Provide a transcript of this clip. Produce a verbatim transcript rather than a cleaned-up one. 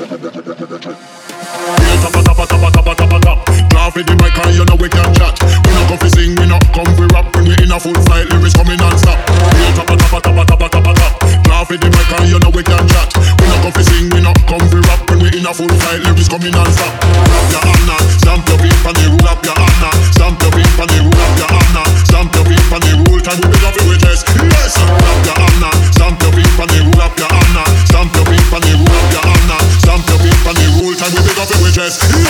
Real top, top, top, top, top, top, top. Laugh with the mic and you know we can chat. We not come fi sing, we not come fi rap. When we in a full flight, lyrics coming non-stop. Real top, top, top, top, top, top, top. Laugh with the mic and you know we can chat. We not come fi sing, we not come fi rap. When we in a full flight, lyrics coming non-stop. Rap your Anna, stamp your feet on the rule. Rap your Anna, stamp your feet on the rule. Rap your Anna, stamp your feet on the rule. Time we big up it with chest. Yes, rap your Anna, stamp your feet on the rule. Rap your Anna, stamp your feet on the rule. Rap your Anna, stamp your feet on the rule. Time we big up it with chest.